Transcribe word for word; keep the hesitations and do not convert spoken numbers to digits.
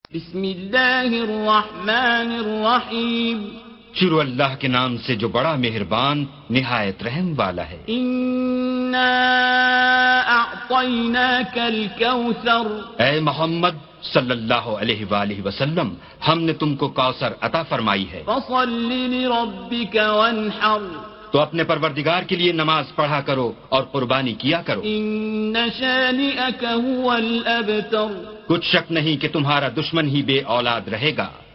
बिस्मिल्लाहिर्रहमानिर्रहीम। शुरू अल्लाह के नाम से जो बड़ा मेहरबान निहायत रहम वाला है। इन्ना अअतैनाकल कौसर। ऐ मोहम्मद सल्लल्लाहु अलैहि वालैहि वसल्लम, हमने तुमको कौसर अता फरमाई है। फसल्लि लिरब्बिक वन्हर। तो अपने परवरदिगार के लिए नमाज पढ़ा करो और कुर्बानी किया करो। इन्न शानिअक हुवल अबतर। कुछ शक नहीं कि तुम्हारा दुश्मन ही बे औलाद रहेगा।